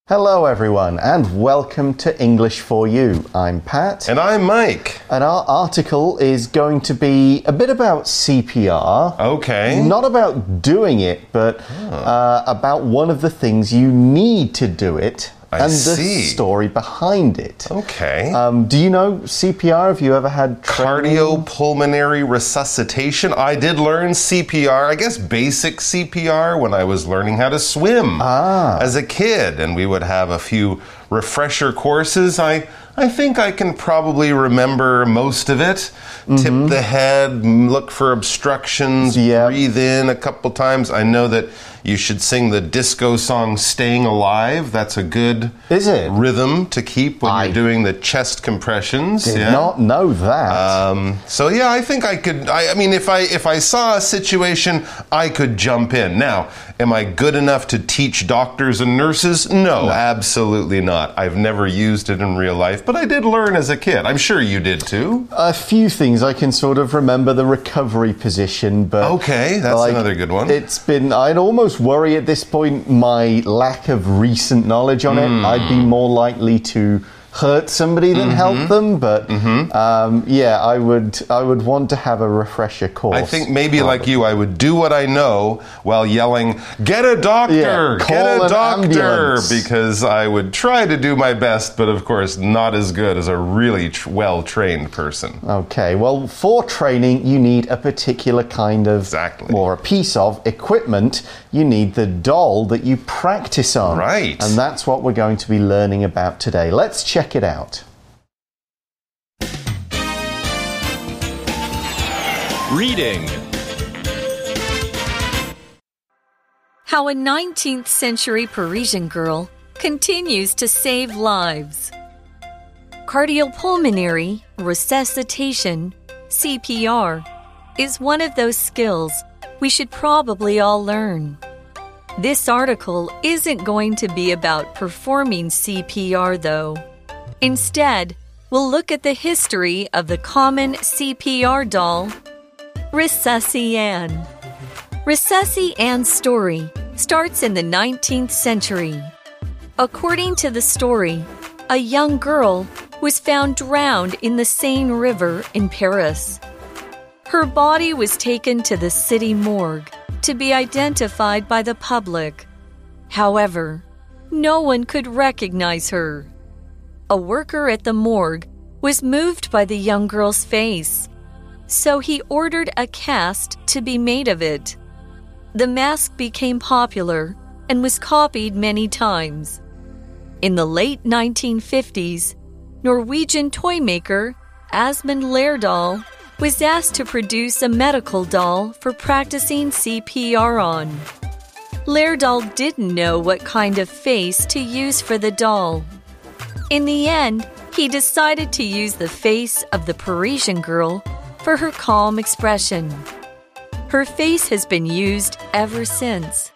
Hello everyone and welcome to English for You. I'm Pat. And I'm Mike. And our article is going to be a bit about CPR. Okay. Not about doing it, but about one of the things you need to do it. I see. The story behind it. Okay. Do you know CPR? Have you ever had training? Cardiopulmonary resuscitation. I did learn CPR, I guess basic CPR, when I was learning how to swim as a kid. And we would have a few refresher courses. I think I can probably remember most of it. Tip the head, look for obstructions, breathe in a couple times. I know that you should sing the disco song Staying Alive. That's a good rhythm to keep when you're doing the chest compressions. Did not know that. So yeah, I think I could. I mean, if I saw a situation, I could jump in. Now, am I good enough to teach doctors and nurses? No, absolutely not. I've never used it in real life, but I did learn as a kid. I'm sure you did too. A few things. I can sort of remember the recovery position, but okay, that's another good one. I'd almost worry at this point my lack of recent knowledge on it. I'd be more likely to hurt somebody than help them, but yeah, I would want to have a refresher course. I think maybe like you, I would do what I know while yelling, "Get a doctor! Get a doctor!" Ambulance. Because I would try to do my best, but of course not as good as a really well-trained person. Okay, well, for training, you need a particular kind of, or a piece of equipment. You need the doll that you practice on. Right. And that's what we're going to be learning about today. Let's check it out. Reading. How a 19th century Parisian girl continues to save lives. Cardiopulmonary resuscitation, CPR, is one of those skills we should probably all learn. This article isn't going to be about performing CPR, though. Instead, we'll look at the history of the common CPR doll, Resusci-Anne. Resusci-Anne's story starts in the 19th century. According to the story, a young girl was found drowned in the Seine River in Paris. Her body was taken to the city morgue to be identified by the public. However, no one could recognize her. A worker at the morgue was moved by the young girl's face, so he ordered a cast to be made of it. The mask became popular and was copied many times. In the late 1950s, Norwegian toy maker Asmund Lerdahl was asked to produce a medical doll for practicing CPR on. Lerdahl didn't know what kind of face to use for the doll. In the end, he decided to use the face of the Parisian girl for her calm expression. Her face has been used ever since.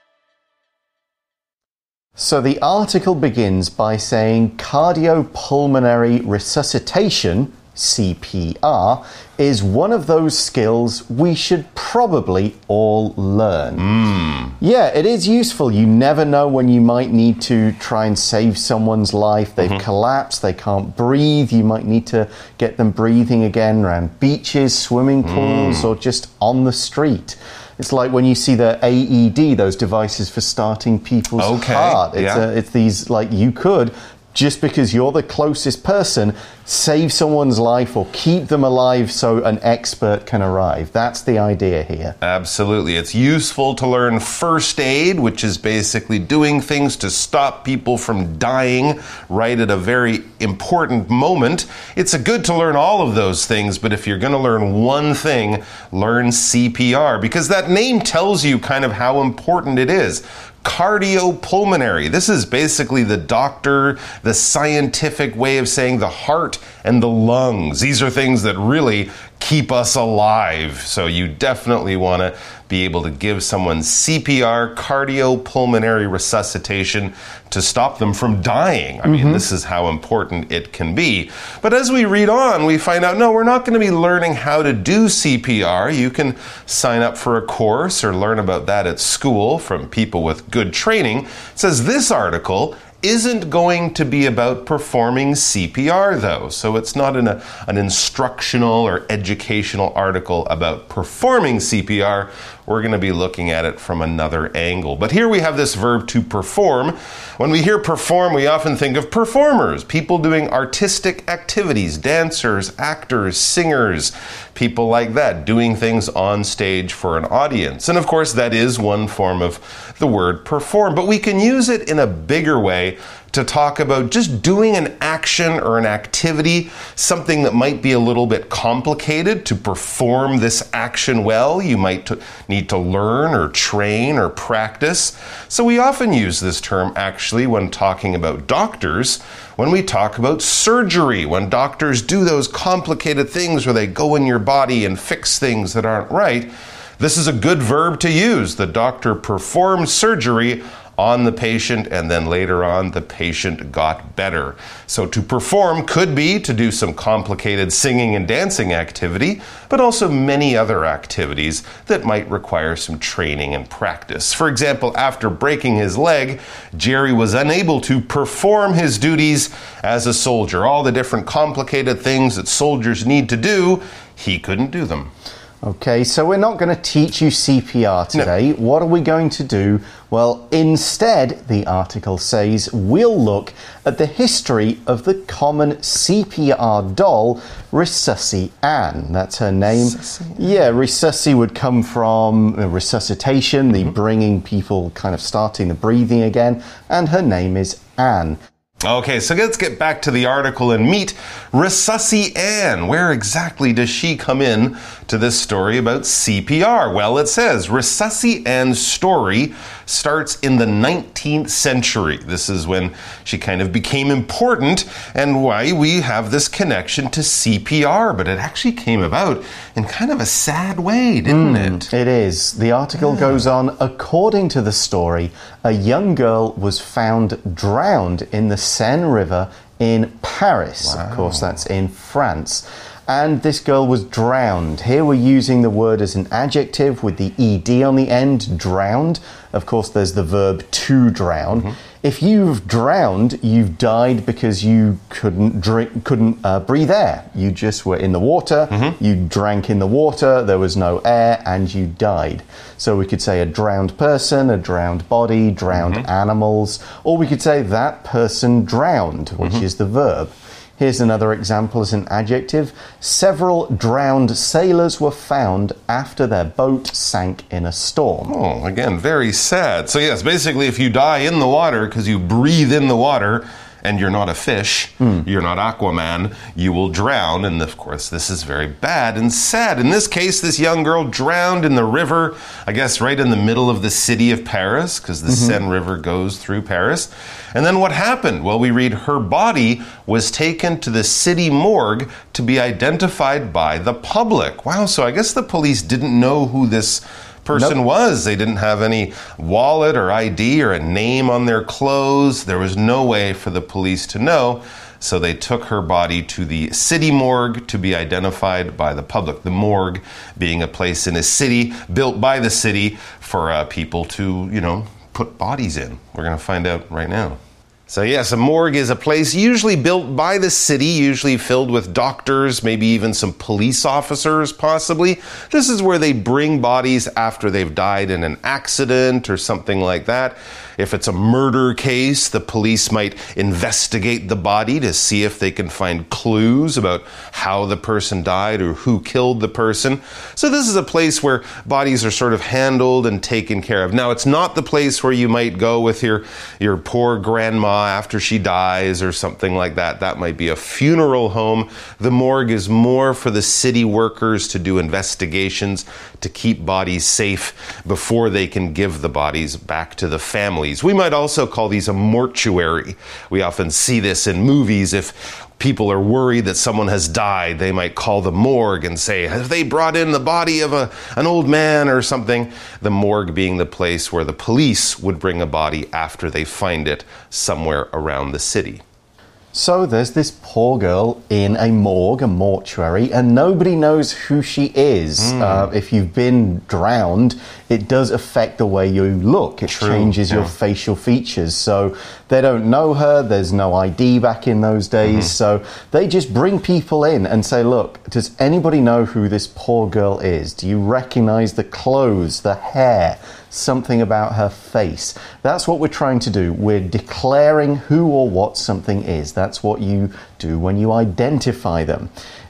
So the article begins by saying cardiopulmonary resuscitation, CPR, is one of those skills we should probably all learn. Yeah, it is useful. You never know when you might need to try and save someone's life. They've collapsed, they can't breathe. You might need to get them breathing again around beaches, swimming pools, or just on the street. It's like when you see the AED, those devices for starting people's heart. It's these, like, you could, just because you're the closest person, save someone's life or keep them alive so an expert can arrive. That's the idea here. Absolutely. It's useful to learn first aid, which is basically doing things to stop people from dying right at a very important moment. It's good to learn all of those things, but if you're going to learn one thing, learn CPR, because that name tells you kind of how important it is. Cardiopulmonary. This is basically the scientific way of saying the heart and the lungs. These are things that really keep us alive. So you definitely want to be able to give someone CPR, cardiopulmonary resuscitation, to stop them from dying. I mean, this is how important it can be. But as we read on, we find out, no, we're not going to be learning how to do CPR. You can sign up for a course or learn about that at school from people with good training. It says this article isn't going to be about performing CPR, though. So it's not an instructional or educational article about performing CPR. We're going to be looking at it from another angle. But here we have this verb to perform. When we hear perform, we often think of performers, people doing artistic activities, dancers, actors, singers, people like that, doing things on stage for an audience. And of course, that is one form of the word perform. But we can use it in a bigger way to talk about just doing an action or an activity, something that might be a little bit complicated. To perform this action well, you might need to learn or train or practice. So we often use this term actually when talking about doctors, when we talk about surgery, when doctors do those complicated things where they go in your body and fix things that aren't right. This is a good verb to use. The doctor performed surgery on the patient, and then later on the patient got better. So to perform could be to do some complicated singing and dancing activity, but also many other activities that might require some training and practice. For example, after breaking his leg, Jerry was unable to perform his duties as a soldier. All the different complicated things that soldiers need to do, he couldn't do them. Okay, so we're not going to teach you CPR today. No. What are we going to do? Well, instead, the article says, we'll look at the history of the common CPR doll, Resusci Ann. That's her name. Yeah, Resusci would come from resuscitation, the bringing people kind of starting the breathing again, and her name is Ann. Okay, so let's get back to the article and meet Resusci Ann. Where exactly does she come in to this story about CPR? Well, it says Resusci Ann's story starts in the 19th century. This is when she kind of became important and why we have this connection to CPR. But it actually came about in kind of a sad way, didn't it? It is. The article goes on, according to the story, a young girl was found drowned in the Seine River in Paris. Wow. Of course, that's in France. And this girl was drowned. Here we're using the word as an adjective with the ed on the end, drowned. Of course, there's the verb to drown. If you've drowned, you've died because you couldn't breathe air. You just were in the water, you drank in the water, there was no air, and you died. So we could say a drowned person, a drowned body, drowned animals, or we could say that person drowned, which is the verb. Here's another example as an adjective. Several drowned sailors were found after their boat sank in a storm. Oh, again, very sad. So yes, basically if you die in the water because you breathe in the water, and you're not a fish, you're not Aquaman, you will drown. And of course, this is very bad and sad. In this case, this young girl drowned in the river, I guess right in the middle of the city of Paris, because the Seine River goes through Paris. And then what happened? Well, we read her body was taken to the city morgue to be identified by the public. Wow, so I guess the police didn't know who this person was. They didn't have any wallet or ID or a name on their clothes. There was no way for the police to know. So they took her body to the city morgue to be identified by the public. The morgue being a place in a city built by the city for people to, put bodies in. We're going to find out right now. So yes, a morgue is a place usually built by the city, usually filled with doctors, maybe even some police officers, possibly. This is where they bring bodies after they've died in an accident or something like that. If it's a murder case, the police might investigate the body to see if they can find clues about how the person died or who killed the person. So this is a place where bodies are sort of handled and taken care of. Now, it's not the place where you might go with your poor grandma after she dies or something like that. That might be a funeral home. The morgue is more for the city workers to do investigations, to keep bodies safe before they can give the bodies back to the families. We might also call these a mortuary. We often see this in movies. If people are worried that someone has died, they might call the morgue and say, have they brought in the body of an old man or something? The morgue being the place where the police would bring a body after they find it somewhere around the city. So there's this poor girl in a morgue, a mortuary, and nobody knows who she is. If you've been drowned, it does affect the way you look. It changes your facial features. So they don't know her. There's no ID back in those days. So they just bring people in and say, look, does anybody know who this poor girl is? Do you recognize the clothes, the hair? Something about her face. That's what we're trying to do. We're declaring who or what something is. That's what you do when you identify them.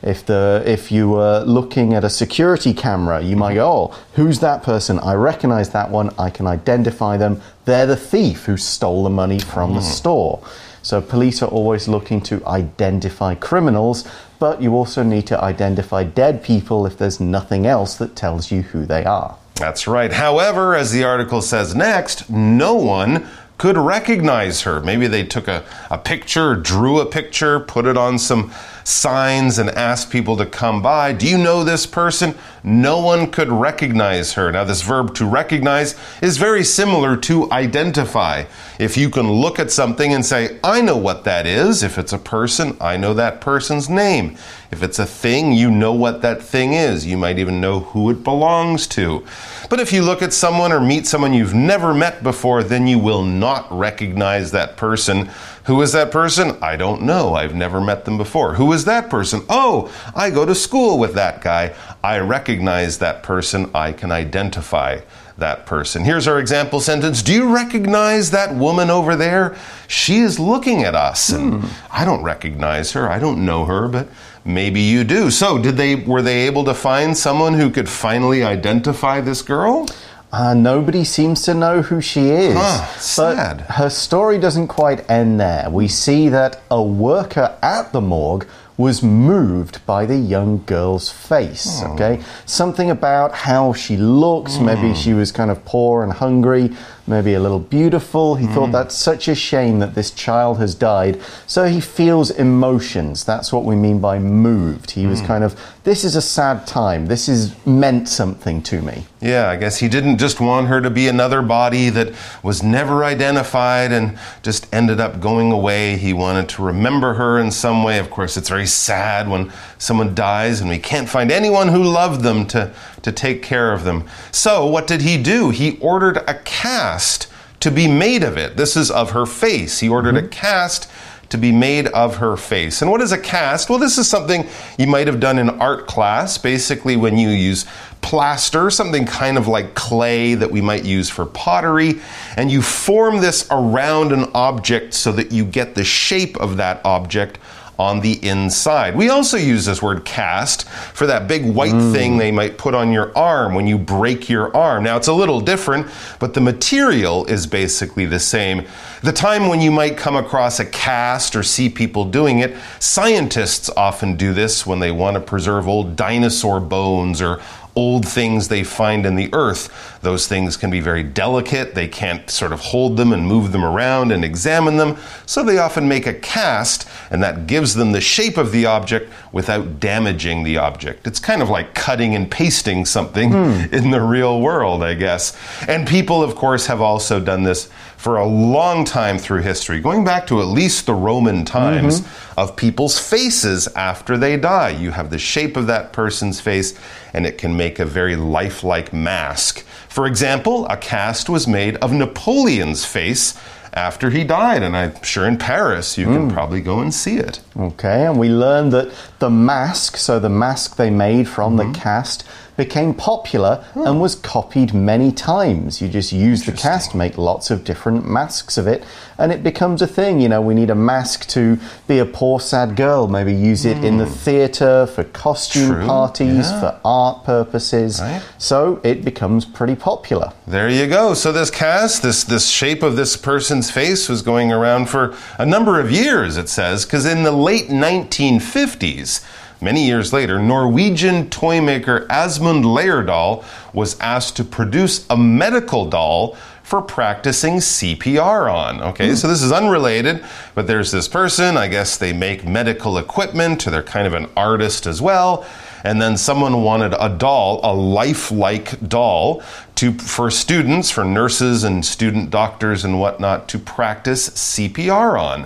If you were looking at a security camera, you might go, oh, who's that person? I recognize that one. I can identify them. They're the thief who stole the money from the store. So police are always looking to identify criminals, but you also need to identify dead people if there's nothing else that tells you who they are. That's right. However, as the article says next, no one could recognize her. Maybe they took a picture, drew a picture, put it on some signs and asked people to come by. Do you know this person? No one could recognize her. Now, this verb to recognize is very similar to identify. If you can look at something and say, I know what that is. If it's a person, I know that person's name. If it's a thing, you know what that thing is. You might even know who it belongs to. But if you look at someone or meet someone you've never met before, then you will not recognize that person. Who is that person? I don't know. I've never met them before. Who is that person? Oh, I go to school with that guy. I recognize that person. I can identify that person. Here's our example sentence. Do you recognize that woman over there? She is looking at us. And I don't recognize her. I don't know her, but maybe you do. So were they able to find someone who could finally identify this girl? Nobody seems to know who she is. Sad. But her story doesn't quite end there. We see that a worker at the morgue was moved by the young girl's face, okay? Something about how she looks, maybe she was kind of poor and hungry, maybe a little beautiful. He thought that's such a shame that this child has died. So he feels emotions. That's what we mean by moved. He was kind of, this is a sad time. This is meant something to me. Yeah, I guess he didn't just want her to be another body that was never identified and just ended up going away. He wanted to remember her in some way. Of course, it's very sad when someone dies and we can't find anyone who loved them to take care of them. So what did he do? He ordered a cast to be made of it. This is of her face. He ordered a cast to be made of her face. And what is a cast? Well, this is something you might have done in art class. Basically, when you use plaster, something kind of like clay that we might use for pottery, and you form this around an object so that you get the shape of that object on the inside. We also use this word cast for that big white thing they might put on your arm when you break your arm. Now, it's a little different, but the material is basically the same. The time when you might come across a cast or see people doing it, scientists often do this when they want to preserve old dinosaur bones or old things they find in the earth. Those things can be very delicate. They can't sort of hold them and move them around and examine them. So they often make a cast, and that gives them the shape of the object without damaging the object. It's kind of like cutting and pasting something in the real world, I guess. And people, of course, have also done this for a long time through history, going back to at least the Roman times, of people's faces after they die. You have the shape of that person's face, and it can make a very lifelike mask. For example, a cast was made of Napoleon's face after he died, and I'm sure in Paris you can probably go and see it. Okay, and we learned that the mask, so the mask they made from the cast, became popular and was copied many times. You just use the cast, make lots of different masks of it, and it becomes a thing. You know, we need a mask to be a poor, sad girl. Maybe use it in the theatre, for costume parties, for art purposes. Right. So it becomes pretty popular. There you go. So this cast, this shape of this person's face was going around for a number of years, it says, because in the late 1950s, many years later, Norwegian toy maker Asmund Lerdahl was asked to produce a medical doll for practicing CPR on. Okay, so this is unrelated, but there's this person, I guess they make medical equipment, or they're kind of an artist as well, and then someone wanted a doll, a lifelike doll, for students, for nurses and student doctors and whatnot, to practice CPR on.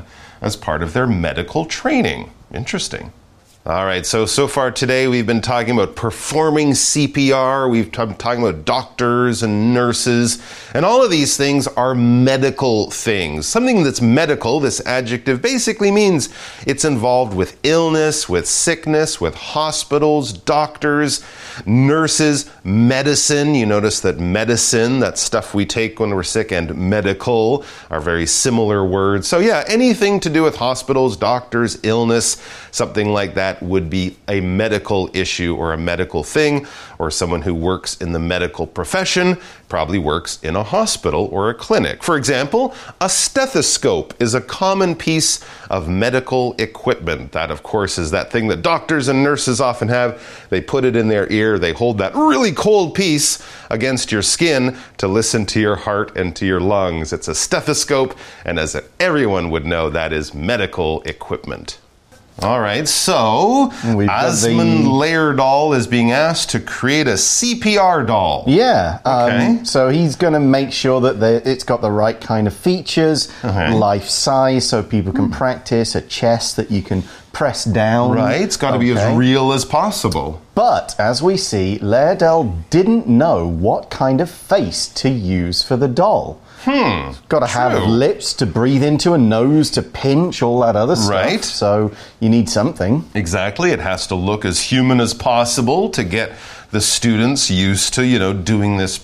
as part of their medical training. Interesting. All right, so far today we've been talking about performing CPR, we've been talking about doctors and nurses, and all of these things are medical things. Something that's medical, this adjective, basically means it's involved with illness, with sickness, with hospitals, doctors, nurses, medicine. You notice that medicine, that stuff we take when we're sick, and medical are very similar words. So yeah, anything to do with hospitals, doctors, illness, something like that would be a medical issue or a medical thing, or someone who works in the medical profession probably works in a hospital or a clinic. For example, a stethoscope is a common piece of medical equipment. That, of course, is that thing that doctors and nurses often have. They put it in their ear, they hold that really cold piece against your skin to listen to your heart and to your lungs. It's a stethoscope, and as everyone would know, that is medical equipment. All right, so Asmund Lerdahl is being asked to create a CPR doll. Yeah, okay. So he's going to make sure that it's got the right kind of features, life size, so people can practice, a chest that you can press down. Right, it's got to be as real as possible. But, as we see, Lerdahl didn't know what kind of face to use for the doll. Got to have lips to breathe into, a nose to pinch, all that other stuff. Right. So you need something. Exactly. It has to look as human as possible to get the students used to, doing this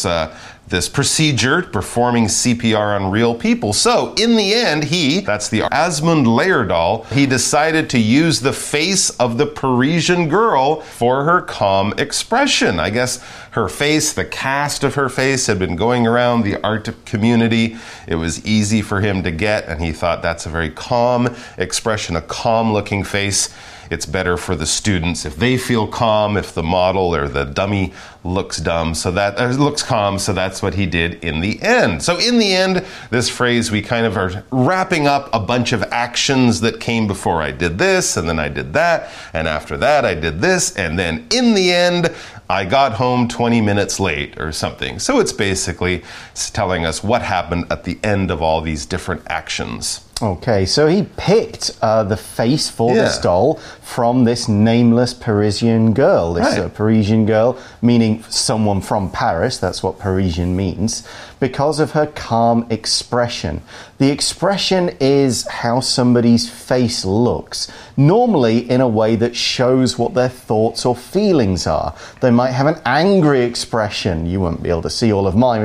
procedure, performing CPR on real people. So in the end, that's the Asmund Lerdahl, he decided to use the face of the Parisian girl for her calm expression. I guess her face, the cast of her face, had been going around the art community. It was easy for him to get, and he thought that's a very calm expression, a calm-looking face. It's better for the students if they feel calm, if the model or the dummy looks dumb, looks calm, so that's what he did in the end. So in the end, this phrase, we kind of are wrapping up a bunch of actions that came before. I did this, and then I did that, and after that I did this, and then in the end, I got home 20 minutes late or something. So it's basically telling us what happened at the end of all these different actions. Okay, so he picked the face for this doll from this nameless Parisian girl. This Parisian girl, meaning someone from Paris, that's what Parisian means, because of her calm expression. The expression is how somebody's face looks, normally in a way that shows what their thoughts or feelings are. They might have an angry expression. You won't be able to see all of mine.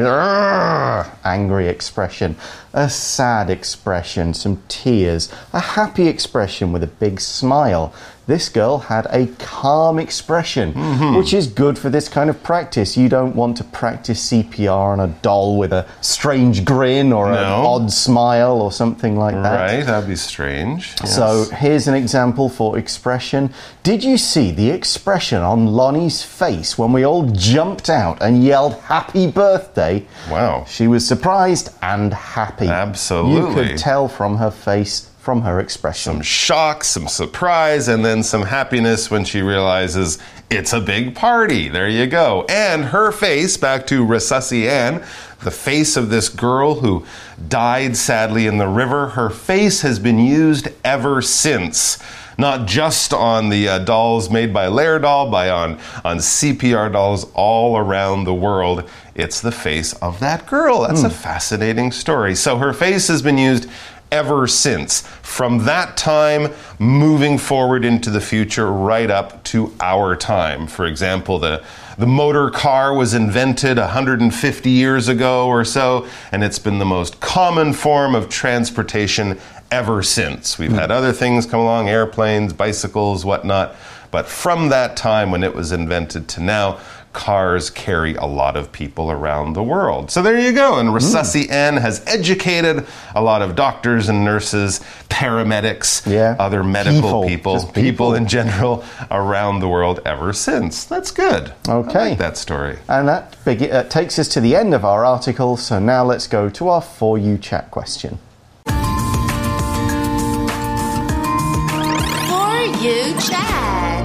Angry expression. A sad expression, some tears, a happy expression with a big smile. This girl had a calm expression, which is good for this kind of practice. You don't want to practice CPR on a doll with a strange grin or an odd smile or something like that. Right, that'd be strange. Yes. So here's an example for expression. Did you see the expression on Lonnie's face when we all jumped out and yelled happy birthday? Wow. She was surprised and happy. Absolutely. You could tell from her face, from her expression. Some shock, some surprise, and then some happiness when she realizes it's a big party. There you go. And her face, back to Resusci Ann, the face of this girl who died sadly in the river, her face has been used ever since. Not just on the dolls made by Lerdahl, but on CPR dolls all around the world. It's the face of that girl. That's a fascinating story. So her face has been used ever since. From that time, moving forward into the future, right up to our time. For example, the motor car was invented 150 years ago or so, and it's been the most common form of transportation ever since. We've had other things come along, airplanes, bicycles, whatnot, but from that time when it was invented to now, cars carry a lot of people around the world. So there you go. And Resusci Ann has educated a lot of doctors and nurses, paramedics, other medical people in general around the world ever since. That's good. Okay. I like that story. And that takes us to the end of our article. So now let's go to our For You Chat question. For You Chat.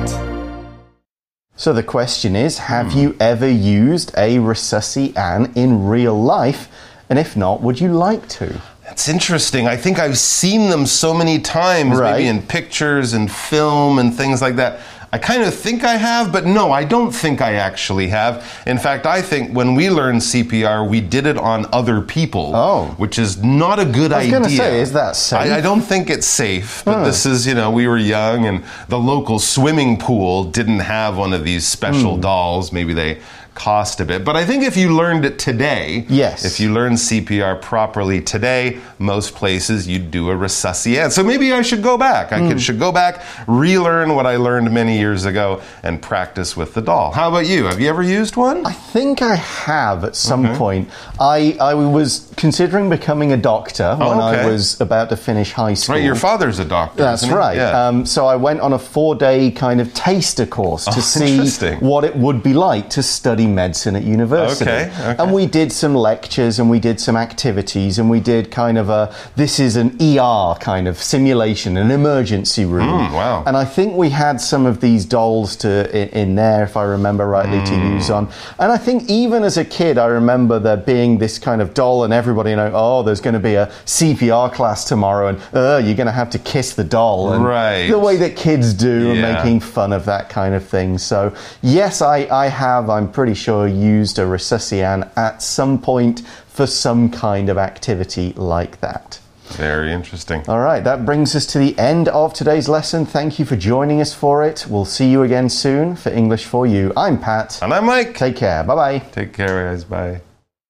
So the question is, have you ever used a Resusci Ann in real life? And if not, would you like to? It's interesting. I think I've seen them so many times, Right. maybe in pictures and film and things like that. I kind of think I have, but no, I don't think I actually have. In fact, I think when we learned CPR, we did it on other people, which is not a good idea. I was going to say, is that safe? I don't think it's safe, but this is, we were young and the local swimming pool didn't have one of these special dolls. Maybe they cost a bit. But I think if you learned it today, if you learned CPR properly today, most places you'd do a resuscitation. So maybe I should go back. I should go back, relearn what I learned many years ago, and practice with the doll. How about you? Have you ever used one? I think I have at some point. I was considering becoming a doctor when I was about to finish high school. Right, your father's a doctor. That's right. Yeah. So I went on a 4-day kind of taster course to see what it would be like to study medicine at university. And we did some lectures and we did some activities and we did kind of this is an ER kind of simulation, an emergency room. Wow. And I think we had some of these dolls in there, if I remember rightly, to use on. And I think even as a kid, I remember there being this kind of doll and everybody, there's going to be a CPR class tomorrow and you're going to have to kiss the doll. And the way that kids do and making fun of that kind of thing. So yes, I have, I'm pretty sure, used a resuscitation at some point for some kind of activity like that. Very interesting. All right, that brings us to the end of today's lesson. Thank you for joining us for it. We'll see you again soon for English for You. I'm Pat. And I'm Mike. Take care. Bye-bye. Take care, guys. Bye.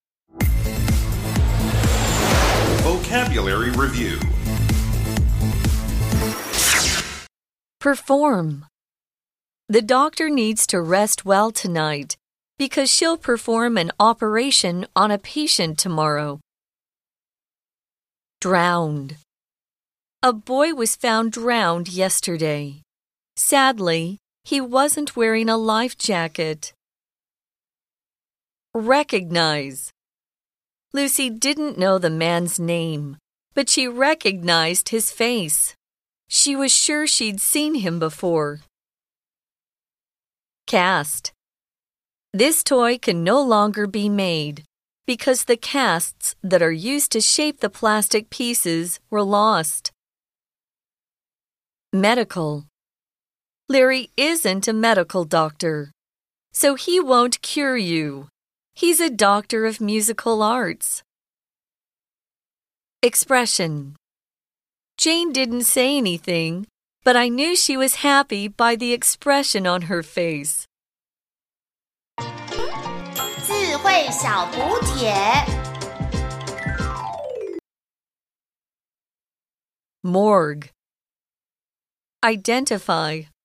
Vocabulary Review. Perform. The doctor needs to rest well tonight because she'll perform an operation on a patient tomorrow. Drowned. A boy was found drowned yesterday. Sadly, he wasn't wearing a life jacket. Recognize. Lucy didn't know the man's name, but she recognized his face. She was sure she'd seen him before. Cast. This toy can no longer be made because the casts that are used to shape the plastic pieces were lost. Medical. Larry isn't a medical doctor, so he won't cure you. He's a doctor of musical arts. Expression. Jane didn't say anything, but I knew she was happy by the expression on her face. 智慧小补帖 Morgue. Identify.